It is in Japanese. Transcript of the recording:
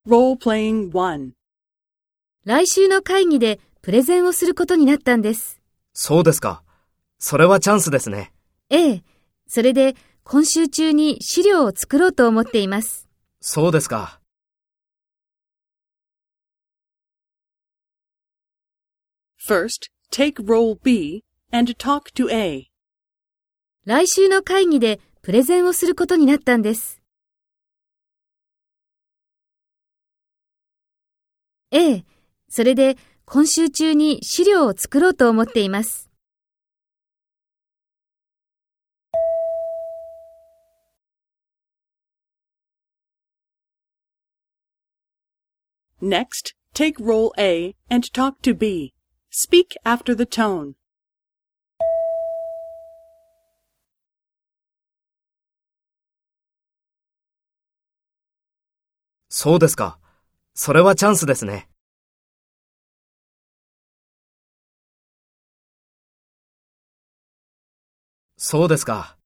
Role-playing 1. 来週の会議でプレゼンをすることになったんです。 そうですか。それはチャンスですね。 ええ。それで今週中に資料を作ろうと思っています。 そうですか。 First, take role B and talk to A. 来週の会議でプレゼンをすることになったんです。ええ。それで今週中に資料を作ろうと思っています。 Next, take role A and talk to B. Speak after the tone. そうですか。それはチャンスですね。そうですか。